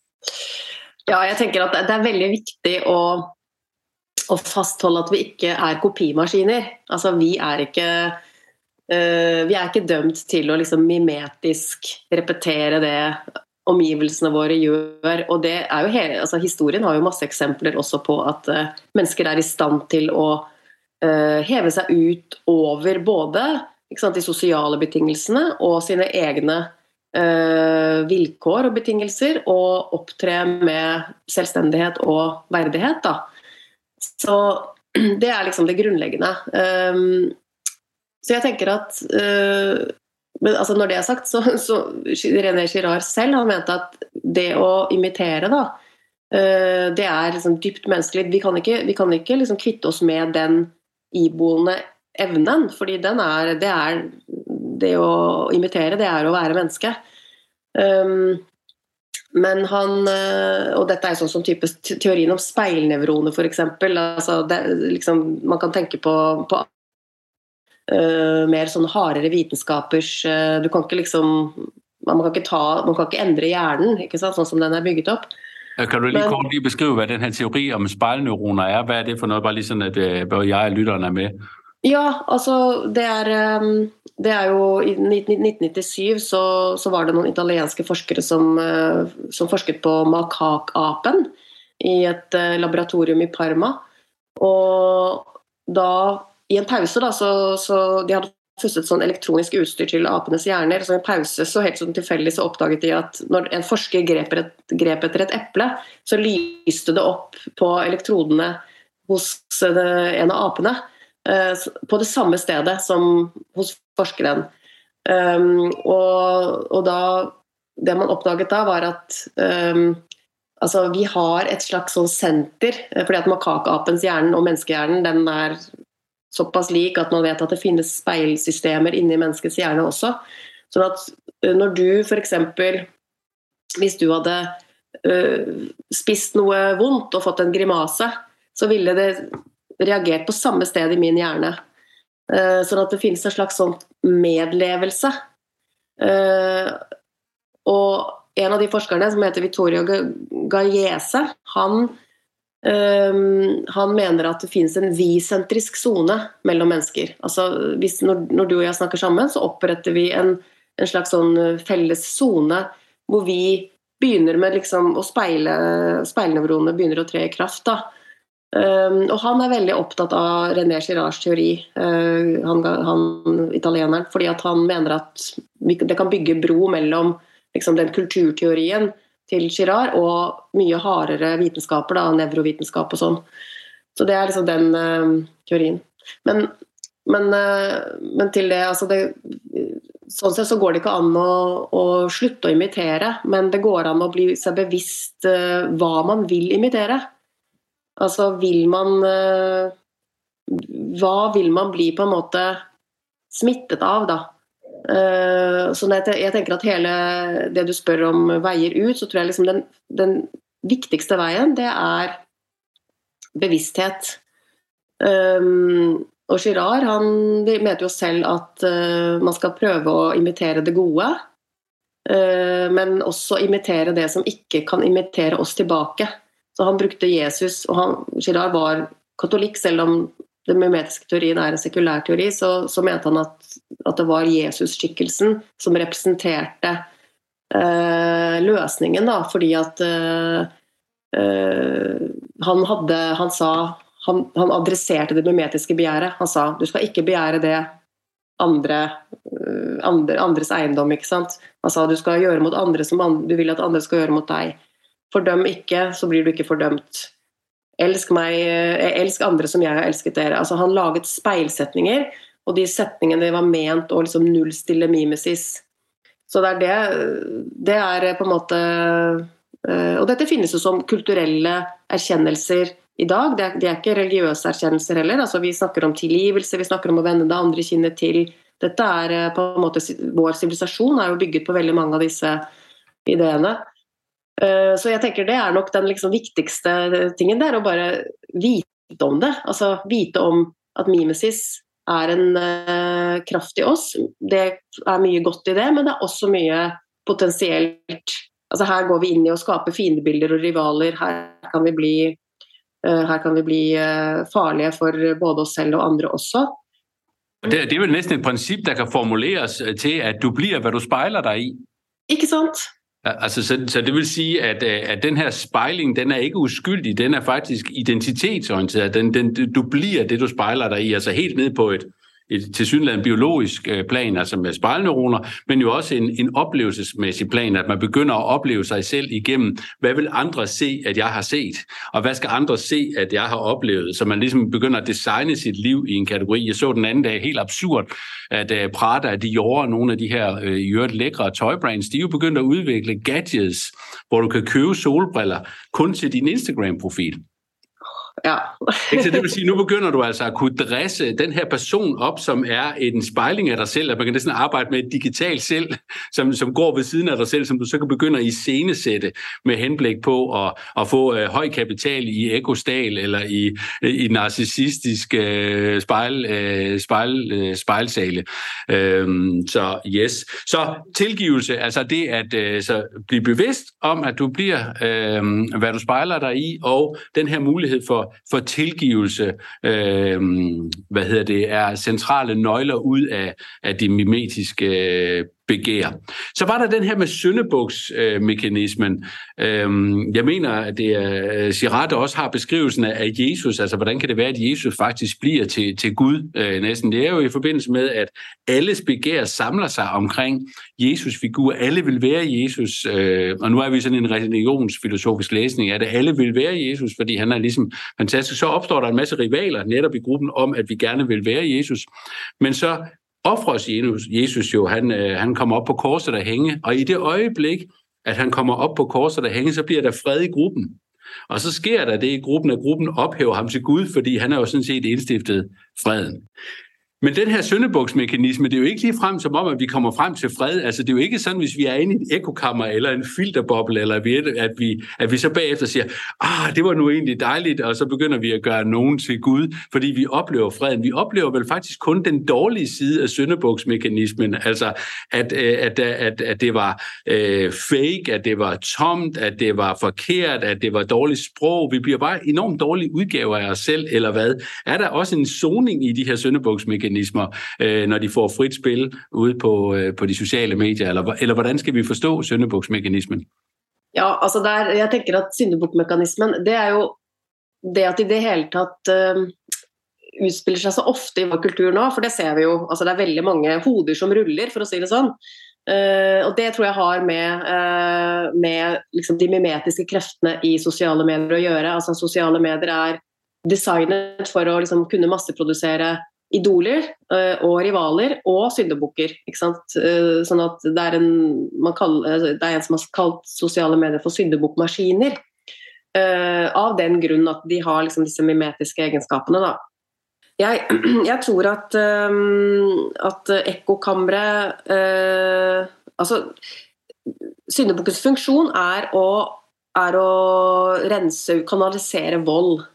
Ja, jeg tænker at det er veldig vigtig å, å fastholde at vi ikke er kopimaskiner. Altså, vi er ikke, uh, vi er ikke dømt til å liksom mimetisk repetere det omgivelsene våre gjør. Og det er jo hele, altså, historien har jo masse eksempler også på at uh, mennesker er i stand til å uh, heve seg ut over både ikke sant, de sosiale betingelsene og sine egne Uh, vilkår og betingelser og opptre med selvstendighet og verdighet da. Så det er liksom det grunnleggende. Um, så jeg tenker at uh, men altså når det er sagt så, så René Girard selv han mente at det å imitere da uh, det er liksom dypt menneskelig. Vi kan ikke, vi kan ikke liksom kvitte oss med den iboende evnen, fordi den er, det er det å imitere, det er å være menneske. Um, men han, og dette er sånn som type teorien om speilnevroner for eksempel, altså det, liksom, man kan tenke på, på uh, mer sånn hardere vitenskapers, uh, du kan ikke liksom, man kan ikke ta, man kan ikke endre hjernen, ikke sant, sånn som den er bygget opp. Kan du lige kort lige beskrive, hvad den her teori om speilneuroner er? Hvad er det for noget? Bare lige sådan, at både jeg og lytteren er med. Ja, altså det er, det er jo i nitten nittisyv så, så var det noen italienske forskere som, som forsket på makakapen i et laboratorium i Parma. Og da, i en pause da, så, så de hadde fustet sånn elektronisk utstyr til apenes hjerner, så i en pause så helt sånn tilfeldig så oppdaget de at når en forsker grep, et, grep etter et eple, så lyste det opp på elektrodene hos en av apene, på det samme stedet som hos forskeren. Um, og, og da, det man oppdaget da var at um, altså vi har et slags sånn senter, fordi at makakapens hjernen og menneskehjernen, den er såpass lik at man vet at det finnes speilsystemer inni menneskets hjerne også. Så at når du for eksempel, hvis du hadde uh, spist noe vondt og fått en grimase, så ville det reagert på samme sted i min hjerne. Uh, sånn at det finnes en slags sånn medlevelse. Uh, og en av de forskerne som heter Vittorio Gallese, han, uh, han mener at det finnes en vi-sentrisk zone mellom mennesker. Altså, hvis, når, når du og jeg snakker sammen, så oppretter vi en, en slags sånn felles zone hvor vi begynner med liksom å speile, speilnevronene begynner å tre i kraft da. Um, og han er veldig opptatt av René Girards teori, uh, han, han italieneren, fordi at han mener at vi, det kan bygge bro mellom liksom, den kulturteorien til Girard og mye hardere vitenskaper, da, nevrovitenskap og sånn. Så det er liksom den uh, teorien. Men, men, uh, men til det, altså det, sånn sett så går det ikke an å, å slutte å imitere, men det går an å bli seg bevisst uh, hva man vil imitere. Altså vil man hva vil man bli på en måte smittet av da så jeg tenker at hele det du spør om veier ut, så tror jeg liksom den, den viktigste veien det er bevissthet og Girard han mente jo selv at man skal prøve å imitere det gode men også imitere det som ikke kan imitere oss tilbake. Så han brukte Jesus, og han, Girard var katolikk, selv om den mimetiske teorien er en sekulær teori, så, så mente han at, at det var Jesus-skikkelsen som representerte eh, løsningen, da, fordi at eh, eh, han hadde, han sa, han, han adresserte det mimetiske begjæret. Han sa, du skal ikke begjære det andre, andre, andres eiendom, ikke sant? Han sa, du skal gjøre mot andre som andre, du vil at andre skal gjøre mot deg. Fordøm ikke, så blir du ikke fordømt. Elsk meg, elsk andre som jeg har elsket dere. Altså han laget speilsetninger, og de setningene var ment å liksom nullstille mimesis. Så det er det, det er på en måte, og dette finnes jo som kulturelle erkjennelser i dag. Det er, det er ikke religiøse erkjennelser heller. Altså vi snakker om tilgivelse, vi snakker om å vende det andre kinnet til. Dette er på en måte, vår sivilisasjon er jo bygget på veldig mange av disse ideene. Så jeg tenker det er nok den liksom viktigste tingen, det er å bare vite om det, altså vite om at mimesis er en uh, kraft i oss. Det er mye godt i det, men det er også mye potensielt. Altså her går vi inn i å skape fiendebilder og rivaler. Her kan vi bli, uh, her kan vi bli uh, farlige for både oss selv og andre også. Det, det er vel næsten et princip, der kan formuleres til, at du bliver, hvad du spejler dig i. Ikke sant? Altså, så, så det vil sige, at, at den her spejling, den er ikke uskyldig, den er faktisk identitetsorienteret. Den, den, du bliver det, du spejler dig i, altså helt ned på et, et tilsyneladende biologisk plan, altså med spejlneuroner, men jo også en, en oplevelsesmæssig plan, at man begynder at opleve sig selv igennem, hvad vil andre se, at jeg har set, og hvad skal andre se, at jeg har oplevet, så man ligesom begynder at designe sit liv i en kategori. Jeg så den anden dag helt absurd, at uh, Prada og Dior, nogle af de her uh, i øvrigt lækre tøjbrands, de er jo begyndt at udvikle gadgets, hvor du kan købe solbriller kun til din Instagram-profil. Ja. Så det vil sige, nu begynder du altså at kunne dresse den her person op, som er en spejling af dig selv, at man kan næsten arbejde med et digitalt selv, som, som går ved siden af dig selv, som du så kan begynde at iscenesætte med henblik på at, at få uh, høj kapital i ekostal eller i, i narcissistisk uh, spejl, uh, spejl, uh, spejlsale. Um, så yes. Så tilgivelse, altså det at uh, så blive bevidst om, at du bliver, uh, hvad du spejler dig i, og den her mulighed for for tilgivelse, øh, hvad hedder det, er centrale nøgler ud af, af de mimetiske øh, begær. Så var der den her med syndebuksmekanismen. Øh, jeg mener, at det er, Girard også har beskrivelsen af Jesus, altså hvordan kan det være, at Jesus faktisk bliver til, til Gud øh, næsten. Det er jo i forbindelse med, at alles begær samler sig omkring Jesus figur. Alle vil være Jesus, øh, og nu er vi sådan en religionsfilosofisk læsning af det. Alle vil være Jesus, fordi han er ligesom fantastisk. Så opstår der en masse rivaler netop i gruppen om, at vi gerne vil være Jesus. Men så offres Jesus, Jesus jo, han, øh, han kommer op på korset og hænge, og i det øjeblik, at han kommer op på korset og hænge, så bliver der fred i gruppen. Og så sker der det i gruppen, at gruppen ophæver ham til Gud, fordi han er jo sådan set indstiftet freden. Men den her syndebuksmekanisme, det er jo ikke lige frem som om, at vi kommer frem til fred. Altså det er jo ikke sådan, hvis vi er inde i et ekokammer eller en filterboble, eller at vi, at vi, at vi så bagefter siger, ah, det var nu egentlig dejligt, og så begynder vi at gøre nogen til Gud, fordi vi oplever freden. Vi oplever vel faktisk kun den dårlige side af syndebuksmekanismen, altså at, at, at, at det var øh, fake, at det var tomt, at det var forkert, at det var dårligt sprog. Vi bliver bare enormt dårlige udgaver af os selv, eller hvad? Er der også en soning i de her syndebuksmekanismer, øh, når de får frit spil ude på, øh, på de sociale medier, eller, eller hvordan skal vi forstå syndebuksmekanismen? Ja, altså der, jeg tenker at syndebuksmekanismen, det er jo det at i det hele tatt uh, utspiller seg så ofte i vår kultur nå, for det ser vi jo, altså det er veldig mange hoder som ruller, for å si det sånn. Uh, og det tror jeg har med, uh, med liksom de mimetiske kreftene i sosiale medier å gjøre. Altså sosiale medier er designet for å liksom kunne masseprodusere idoler uh, og rivaler og syndebukker, ikke sant? Uh, sånn at det er, en, man kaller, det er en som har kalt sosiale medier for syndebukkmaskiner, uh, av den grunn at de har liksom disse mimetiske egenskapene da. Jeg, jeg tror at, um, at ekkokamre, uh, altså syndebukkens funksjon er å, er å rense, kanalisere vold.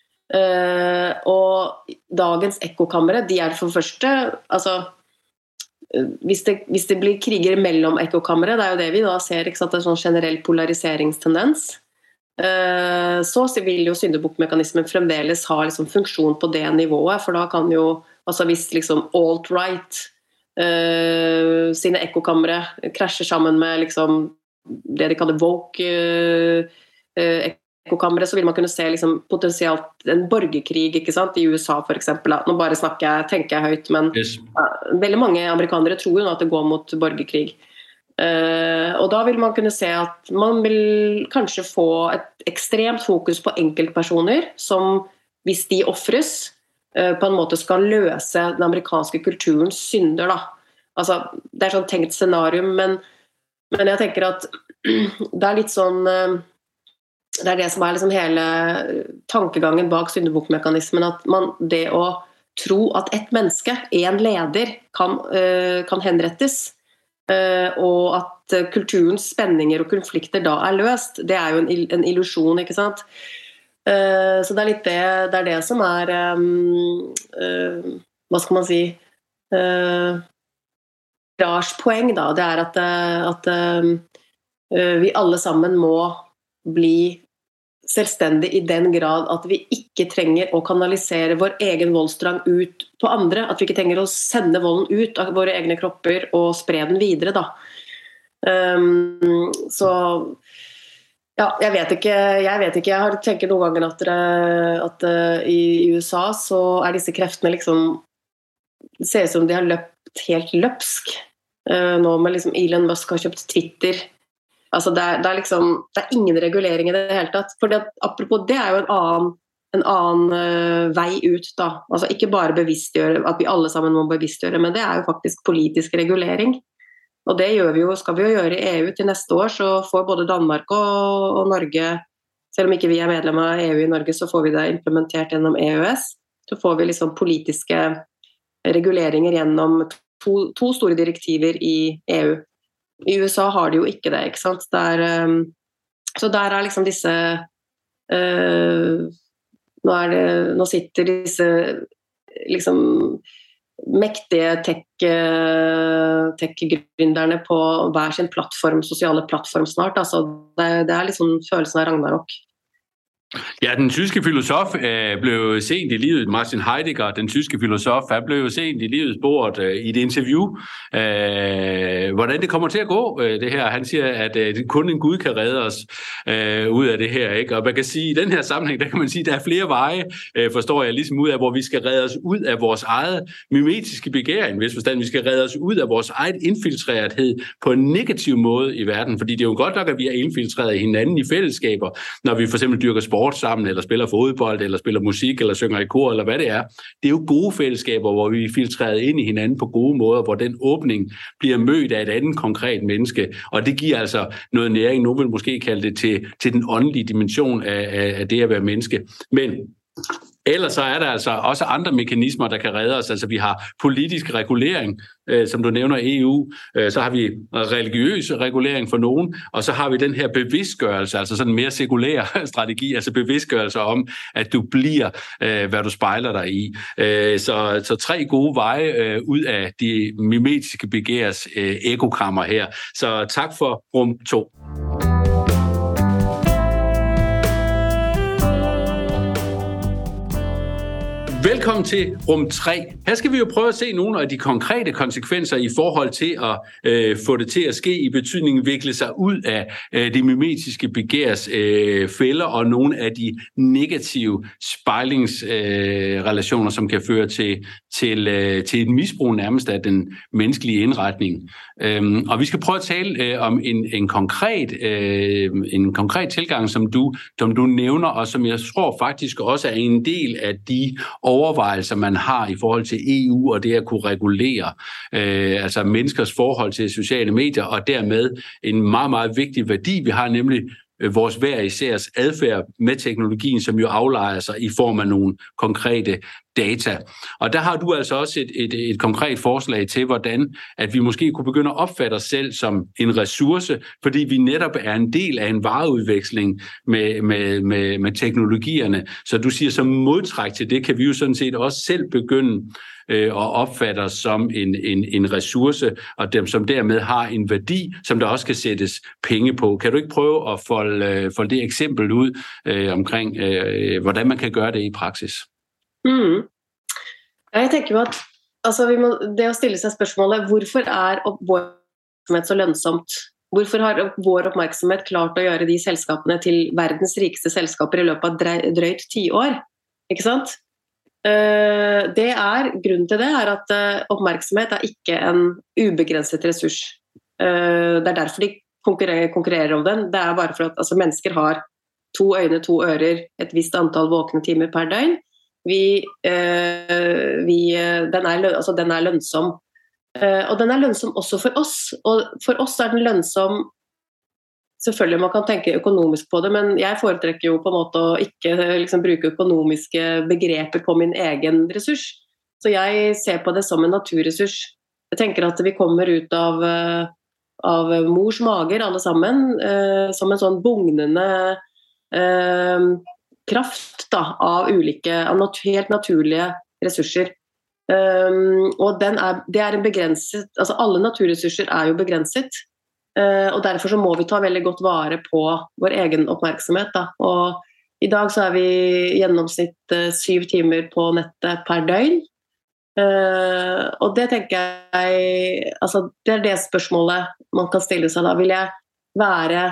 Uh, og dagens ekkokamre, de er for første, altså uh, hvis, det, hvis det blir kriger mellom ekkokamre, det er jo det vi da ser, ikke sant, det er sånn generell polariseringstendens, uh, så vil jo syndebukkmekanismen fremdeles ha liksom funksjon på det nivået, for da kan jo, altså hvis liksom alt-right uh, sine ekkokamre krasjer sammen med liksom det de kaller woke uh, uh, ekkokamre, så vil man kunne se liksom potensielt en borgerkrig, ikke sant, i U S A for eksempel. Nå bare snakker jeg, tenker jeg høyt, men yes. ja, veldig mange amerikanere tror jo at det går mot borgerkrig. Uh, og da vil man kunne se at man vil kanskje få et ekstremt fokus på enkeltpersoner, som hvis de offres, uh, på en måte skal løse den amerikanske kulturens synder da. Altså, det er sånn tenkt scenarium, men, men jeg tenker at det er litt sånn... Uh, Det er det som er liksom hele tankegangen bak syndebukkmekanismen, at man, det å tro at et menneske, en leder, kan, uh, kan henrettes, uh, og at kulturens spenninger og konflikter da er løst, det er jo en, en illusion, ikke sant? Uh, så det er litt det, det er det som er um, uh, hva skal man si uh, Rars poeng da, det er at, at uh, vi alle sammen må bli selvstendig i den grad at vi ikke trenger å kanalisere vår egen voldsdrang ut på andre, at vi ikke trenger å sende volden ut av våre egne kropper og spre den videre da. Um, så ja, jeg vet ikke, jeg vet ikke, jeg har tenkt noen ganger at, at uh, i U S A så er disse kreftene liksom, det ser ut som de har løpt helt løpsk, uh, nå med liksom Elon Musk har kjøpt Twitter. Altså det er, det er liksom, det er ingen regulering i det hele tatt, for det, apropos det er jo en annen, en annen uh, vei ut da, altså ikke bare bevisstgjøre, at vi alle sammen må bevisstgjøre, men det er jo faktisk politisk regulering. Og det gjør vi jo, skal vi jo gjøre i E U til neste år, så får både Danmark og, og Norge, selv om ikke vi er medlem av E U i Norge, så får vi det implementert gjennom E U S, så får vi liksom politiske reguleringer gjennom to, to store direktiver i E U. I U S A har de jo ikke det, ikke sant? Der, um, så der er liksom disse, uh, nå, er det, nå sitter disse liksom mektige tech, tech-gründerne på hver sin plattform, sosiale plattform snart. Altså, det, det er liksom følelsen av Ragnarok. Ja, den tyske filosof øh, blev sent i livet, Martin Heidegger, den tyske filosof, han blev sent i livet spurgt øh, i et interview, øh, hvordan det kommer til at gå, øh, det her. Han siger, at øh, kun en Gud kan redde os øh, ud af det her, ikke? Og man kan sige, i den her sammenhæng, der kan man sige, at der er flere veje, øh, forstår jeg, ligesom ud af, hvor vi skal redde os ud af vores eget mimetiske begæring, hvis forstand, vi skal redde os ud af vores eget infiltrerethed på en negativ måde i verden, fordi det er jo godt nok, at vi er infiltreret hinanden i fællesskaber, når vi for eksempel dyrker sport sammen, eller spiller fodbold, eller spiller musik, eller synger i kor, eller hvad det er. Det er jo gode fællesskaber, hvor vi er filtreret ind i hinanden på gode måder, hvor den åbning bliver mødt af et andet konkret menneske, og det giver altså noget næring, nogen vil måske kalde det til, til den åndelige dimension af, af, af det at være menneske. Men ellers så er der altså også andre mekanismer, der kan redde os. Altså vi har politisk regulering, øh, som du nævner E U, øh, så har vi religiøs regulering for nogen, og så har vi den her bevidstgørelse, altså sådan en mere sekulær strategi, altså bevidstgørelse om, at du bliver, øh, hvad du spejler dig i. Øh, så, så tre gode veje øh, ud af de mimetiske begærs øh, ekokammer her. Så tak for rum to. Velkommen til rum tre. Her skal vi jo prøve at se nogle af de konkrete konsekvenser i forhold til at øh, få det til at ske i betydningen vikle sig ud af øh, de mimetiske begærs øh, fælder og nogle af de negative spejlingsrelationer, øh, som kan føre til, til, øh, til et misbrug nærmest af den menneskelige indretning. Øhm, og vi skal prøve at tale øh, om en, en, konkret, øh, en konkret tilgang, som du, som du nævner, og som jeg tror faktisk også er en del af de overvejelser, man har i forhold til E U og det at kunne regulere øh, altså menneskers forhold til sociale medier, og dermed en meget, meget vigtig værdi, vi har, nemlig øh, vores hver isærs adfærd med teknologien, som jo aflejer sig i form af nogle konkrete data. Og der har du altså også et, et, et konkret forslag til, hvordan at vi måske kunne begynde at opfatte os selv som en ressource, fordi vi netop er en del af en vareudveksling med, med, med, med teknologierne. Så du siger, som modtræk til det, kan vi jo sådan set også selv begynde øh, at opfatte os som en, en, en ressource, og dem, som dermed har en værdi, som der også kan sættes penge på. Kan du ikke prøve at folde, folde det eksempel ud øh, omkring, øh, hvordan man kan gøre det i praksis? Mm. Jeg tenker jo at altså, vi må, det å stille seg spørsmålet, hvorfor er vår oppmerksomhet så lønnsomt? Hvorfor har vår oppmerksomhet klart å gjøre de selskapene til verdens rikeste selskaper i løpet av drøyt ti år? Ikke sant? Det er, grunnen til det er at oppmerksomhet er ikke en ubegrenset ressurs. Det er derfor de konkurrerer, konkurrerer om den. Det er bare for at altså, mennesker har to øyne, to ører, et visst antall våkne timer per døgn. Vi, øh, vi, den, er, altså, den er lønnsom. Uh, og den er lønnsom også for oss. Og for oss er den lønnsom, selvfølgelig man kan tenke økonomisk på det, men jeg foretrekker jo på en måte å ikke liksom, bruke økonomiske begreper på min egen ressurs. Så jeg ser på det som en naturressurs. Jeg tenker at vi kommer ut av, av mors mager alle sammen, eh, som en sånn bugnende eh, kraft da, av ulike, av nat- helt naturlige ressurser. Um, og den er, det er en begrenset, altså alle naturressurser er jo begrenset, uh, og derfor så må vi ta veldig godt vare på vår egen oppmerksomhet da. Og i dag så er vi i gjennomsnitt uh, syv timer på nettet per døgn, uh, og det tenker jeg, altså det er det spørsmålet man kan stille seg da. Vil jeg være,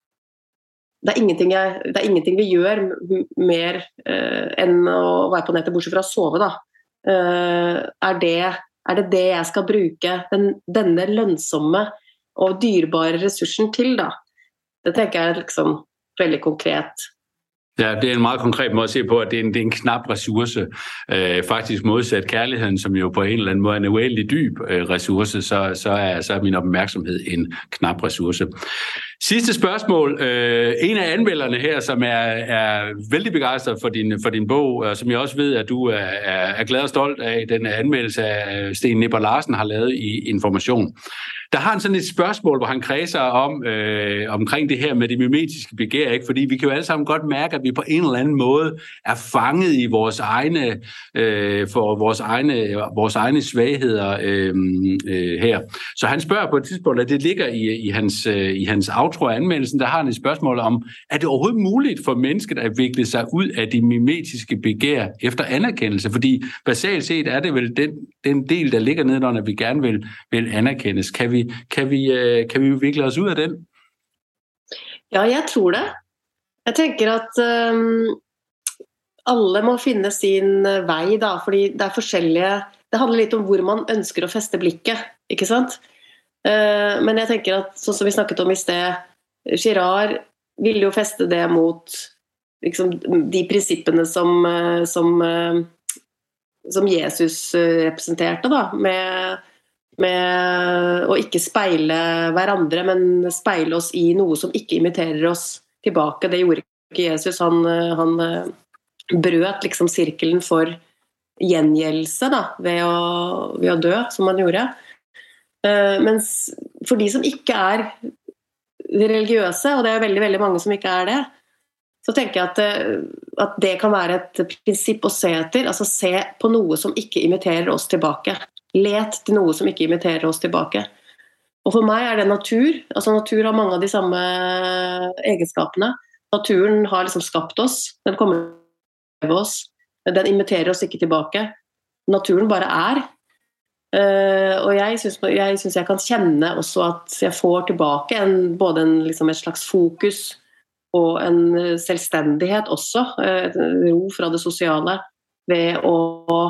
det er ingenting, jeg, det er ingenting vi gjør mer uh, enn å være på nettet, bortsett fra å sove da. Uh, er, det, er det det jeg skal bruke den, denne lønnsomme og dyrebare ressursen til da? Det tenker jeg er liksom veldig konkret. Ja, det er en meget konkret måde at se på, at det er en, det er en knap ressource. Øh, faktisk modsat kærligheden, som jo på en eller anden måde er en uendelig dyb øh, ressource, så, så, er, så er min opmærksomhed en knap ressource. Sidste spørgsmål. Øh, en af anmelderne her, som er, er vældig begejstret for din, for din bog, og som jeg også ved, at du er, er, er glad og stolt af, den anmeldelse af Sten Nipper Larsen har lavet i Information. Der har han sådan et spørgsmål, hvor han kredser om øh, omkring det her med det mimetiske begær, ikke? Fordi vi kan jo alle sammen godt mærke, at vi på en eller anden måde er fanget i vores egne, øh, for vores egne, vores egne svagheder øh, øh, her. Så han spørger på et tidspunkt, at det ligger i, i hans, øh, i hans outro af anmeldelsen, der har han et spørgsmål om, er det overhovedet muligt for mennesket at vikle sig ud af det mimetiske begær efter anerkendelse? Fordi basalt set er det vel den, den del, der ligger nedenunder, vi gerne vil, vil anerkendes. Kan vi Kan vi, kan vi vikle oss ut av den? Ja, jeg tror det. Jeg tenker at um, alle må finne sin vei da, fordi det er forskjellige, det handler litt om hvor man ønsker å feste blikket, ikke sant? Uh, men jeg tenker at, sånn som vi snakket om i sted, Girard ville jo feste det mot liksom, de prinsippene som, som, som Jesus representerte da, med med å ikke speile hverandre, men speile oss i noe som ikke imiterer oss tilbake. Det gjorde ikke Jesus. Han, han brøt liksom sirkelen for gjengjeldelse da, ved å, ved å dø, som han gjorde. Mens for de som ikke er religiøse, og det er veldig, veldig mange som ikke er det, så tenker jeg at, at det kan være et prinsipp å se etter, altså se på noe som ikke imiterer oss tilbake. Let til noe som ikke imiterer oss tilbake. Og for meg er det natur. Altså natur har mange av de samme egenskapene. Naturen har liksom skapt oss. Den kommer til oss. Den imiterer oss ikke tilbake. Naturen bare er. Og jeg synes jeg, synes jeg kan kjenne også at jeg får tilbake en, både en, liksom et slags fokus og en selvstendighet også. Et ro fra det sosiale ved å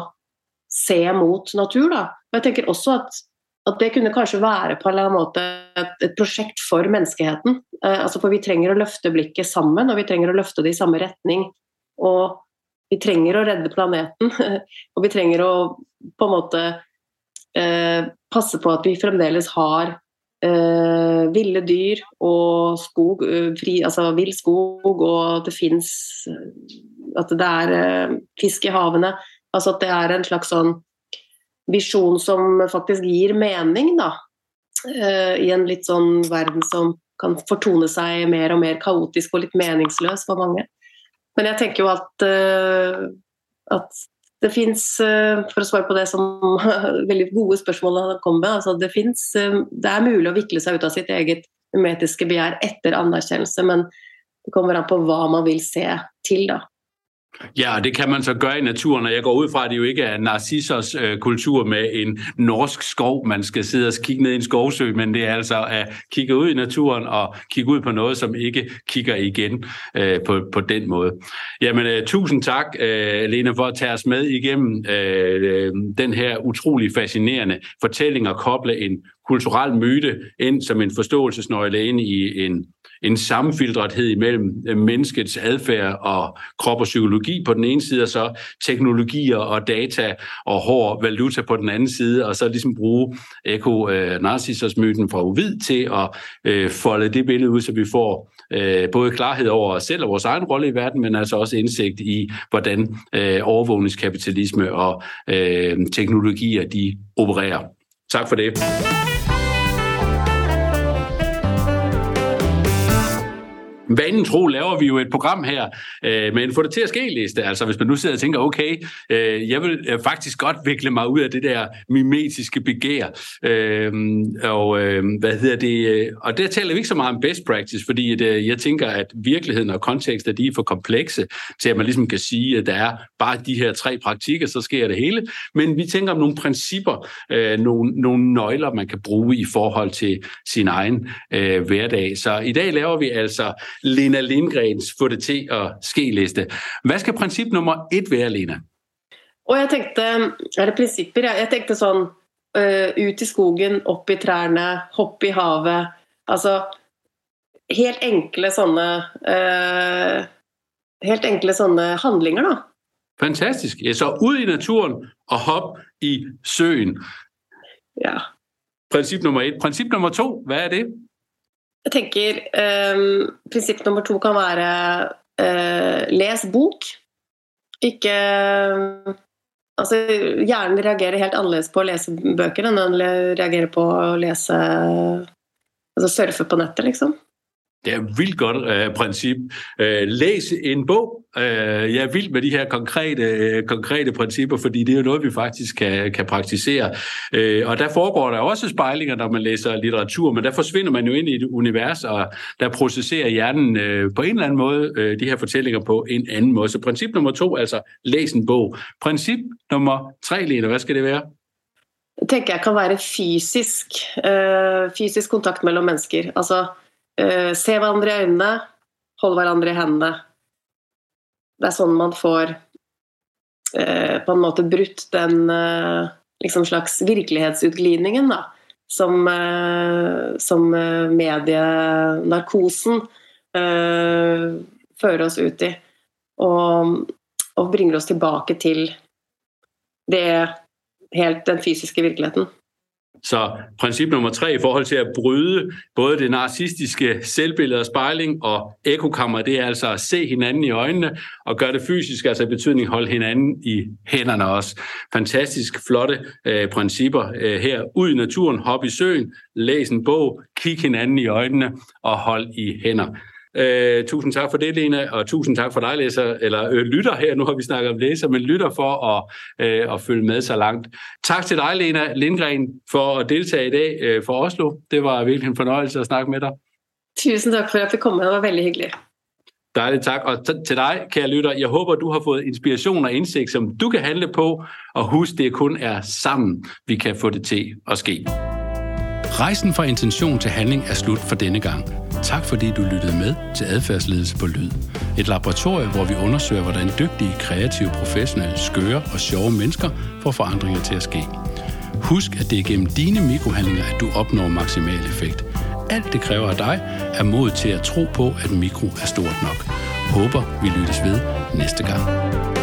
se mot natur da. Og jeg tenker også at, at det kunne kanskje være på en eller annen måte et, et prosjekt for menneskeheten. Eh, altså for vi trenger å løfte blikket sammen, og vi trenger å løfte det i samme retning. Og vi trenger å redde planeten, og vi trenger å på en måte eh, passe på at vi fremdeles har eh, ville dyr og skog, fri, altså vill skog, og det finnes at det er eh, fisk i havene. Altså at det er en slags sånn visjon som faktisk gir mening da, uh, i en litt sånn verden som kan fortone seg mer og mer kaotisk og litt meningsløs for mange. Men jeg tenker jo at, uh, at det finnes, uh, for å svare på det som veldig gode spørsmål han kom med, altså det finnes, uh, det er mulig å vikle seg ut av sitt eget mimetiske begjær etter anerkjennelse, men det kommer an på hva man vil se til da. Ja, det kan man så gøre i naturen, og jeg går ud fra, at det jo ikke er Narcissos øh, kultur med en norsk skov, man skal sidde og kigge ned i en skovsø, men det er altså at kigge ud i naturen og kigge ud på noget, som ikke kigger igen øh, på, på den måde. Jamen, øh, tusind tak, øh, Lene, for at tage os med igennem øh, den her utrolig fascinerende fortælling og koble en kulturel myte ind som en forståelsesnøgle ind i en, en sammenfiltrethed imellem menneskets adfærd og krop og psykologi på den ene side, og så teknologier og data og hård valuta på den anden side, og så ligesom bruge eko-narcissus-myten fra Ovid til at øh, folde det billede ud, så vi får øh, både klarhed over os selv og vores egen rolle i verden, men altså også indsigt i, hvordan øh, overvågningskapitalisme og øh, teknologier, de opererer. Tak for det. Vanen tro laver vi jo et program her øh, med en få det til at ske-liste. Altså hvis man nu sidder og tænker, okay, øh, jeg vil øh, faktisk godt vikle mig ud af det der mimetiske begær. Øh, og øh, hvad hedder det? Og der taler vi ikke så meget om best practice, fordi at, øh, jeg tænker, at virkeligheden og kontekster, de er for komplekse til, at man ligesom kan sige, at der er bare de her tre praktikker, så sker det hele. Men vi tænker om nogle principper, øh, nogle, nogle nøgler, man kan bruge i forhold til sin egen øh, hverdag. Så i dag laver vi altså Lena Lindgrens få det til at ske-liste. Hvad skal princip nummer et være, Lena? Og jeg tænkte, er det principper? Jeg tænkte sådan, uh, ut i skogen, op i træerne, hopp i havet. Altså, helt enkle sånne, uh, helt enkle sånne handlinger, da. Fantastisk. Ja, så ud i naturen og hop i søen. Ja. Princip nummer et. Princip nummer to, hvad er det? Jeg tænker, um, princip nummer to kan være uh, læs bok. Ikke, uh, altså hjernen reagerer helt anderledes på at læse bøker, end den reagerer på at læse, altså surfe på nettet, liksom. Det er et vildt godt uh, princip. Uh, læs en bog. Uh, jeg er vild med de her konkrete, uh, konkrete principper, fordi det er jo noget, vi faktisk kan, kan praktisere. Uh, og der foregår der også spejlinger, når man læser litteratur, men der forsvinder man jo ind i et univers, og der processerer hjernen uh, på en eller anden måde uh, de her fortællinger på en anden måde. Så princip nummer to, altså læs en bog. Princip nummer tre, Lena, hvad skal det være? Jeg tænker, jeg kan være fysisk, uh, fysisk kontakt mellem mennesker. Altså, Uh, se hverandre i øynene, hold hverandre i hendene. Det er sånn man får uh, på en måte brutt den uh, liksom slags virkelighetsutglidningen da, som, uh, som uh, medienarkosen uh, fører oss ut i, og, og bringer oss tilbake til det helt den fysiske virkeligheten. Så princip nummer tre i forhold til at bryde både det narcistiske selvbillede og spejling og ekokammer, det er altså at se hinanden i øjnene og gøre det fysisk, altså i betydning holde hinanden i hænderne også. Fantastisk flotte øh, principper øh, her. Ud i naturen, hop i søen, læs en bog, kig hinanden i øjnene og hold i hænder. Uh, tusind tak for det, Lena, og tusind tak for dig, læser, eller øh, lytter her. Nu har vi snakket om læser, men lytter for at, øh, at følge med så langt. Tak til dig, Lena Lindgren, for at deltage i dag øh, for Oslo. Det var virkelig en fornøjelse at snakke med dig. Tusind tak for at jeg fik komme. Det var veldig hyggeligt. Dejligt, tak. Og t- til dig, kære lytter, jeg håber, du har fået inspiration og indsigt, som du kan handle på, og husk, det kun er sammen, vi kan få det til at ske. Rejsen fra intention til handling er slut for denne gang. Tak fordi du lyttede med til Adfærdsledelse på Lyd. Et laboratorium, hvor vi undersøger, hvordan dygtige, kreative, professionelle, skøre og sjove mennesker får forandringer til at ske. Husk, at det er gennem dine mikrohandlinger, at du opnår maksimal effekt. Alt det kræver af dig er mod til at tro på, at mikro er stort nok. Håber, vi lyttes ved næste gang.